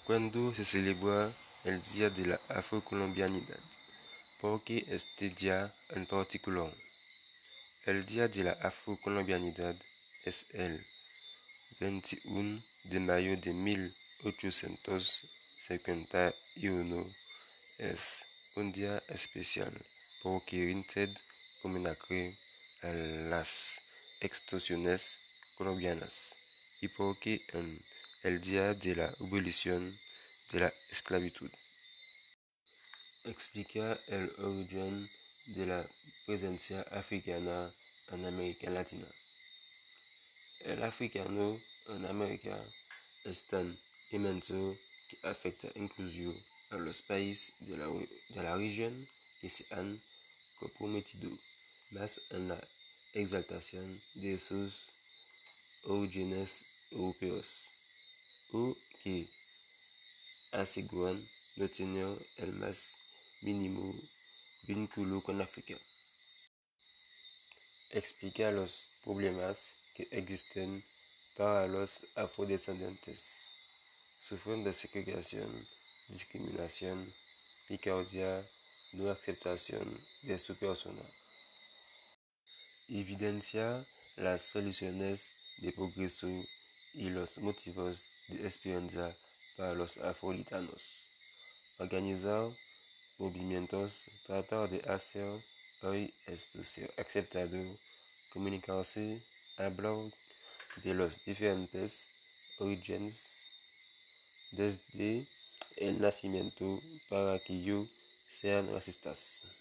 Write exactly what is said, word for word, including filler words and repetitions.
Cuando se celebra el Día de la Afrocolombianidad? ¿Por qué este día en particular? El Día de la Afrocolombianidad es el veintiuno de mayo de mil ochocientos cincuenta y uno. Es un día especial porque rinde homenaje a las extorsiones colombianas y porque en el día de la abolición de la esclavitud. Explica el origen de la presencia africana en América Latina. El africano en América es tan inmenso que afecta incluso a los países de la, de la región que se han comprometido más en la exaltación de sus orígenes europeos, o que aseguran no tener el más mínimo vínculo con África. Explica los problemas que existen para los afrodescendientes. Sufren de segregación, discriminación, picardia, no aceptación de su persona. Evidencia las soluciones de progreso y los motivos de esperanza para los afroitanos. Organizar movimientos, tratar de hacer hoy esto ser aceptado, comunicarse, hablar de los diferentes orígenes desde el nacimiento para que ellos sean racistas.